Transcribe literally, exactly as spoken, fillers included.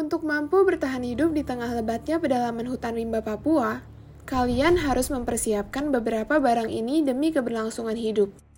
Untuk mampu bertahan hidup di tengah lebatnya pedalaman hutan rimba Papua, kalian harus mempersiapkan beberapa barang ini demi keberlangsungan hidup.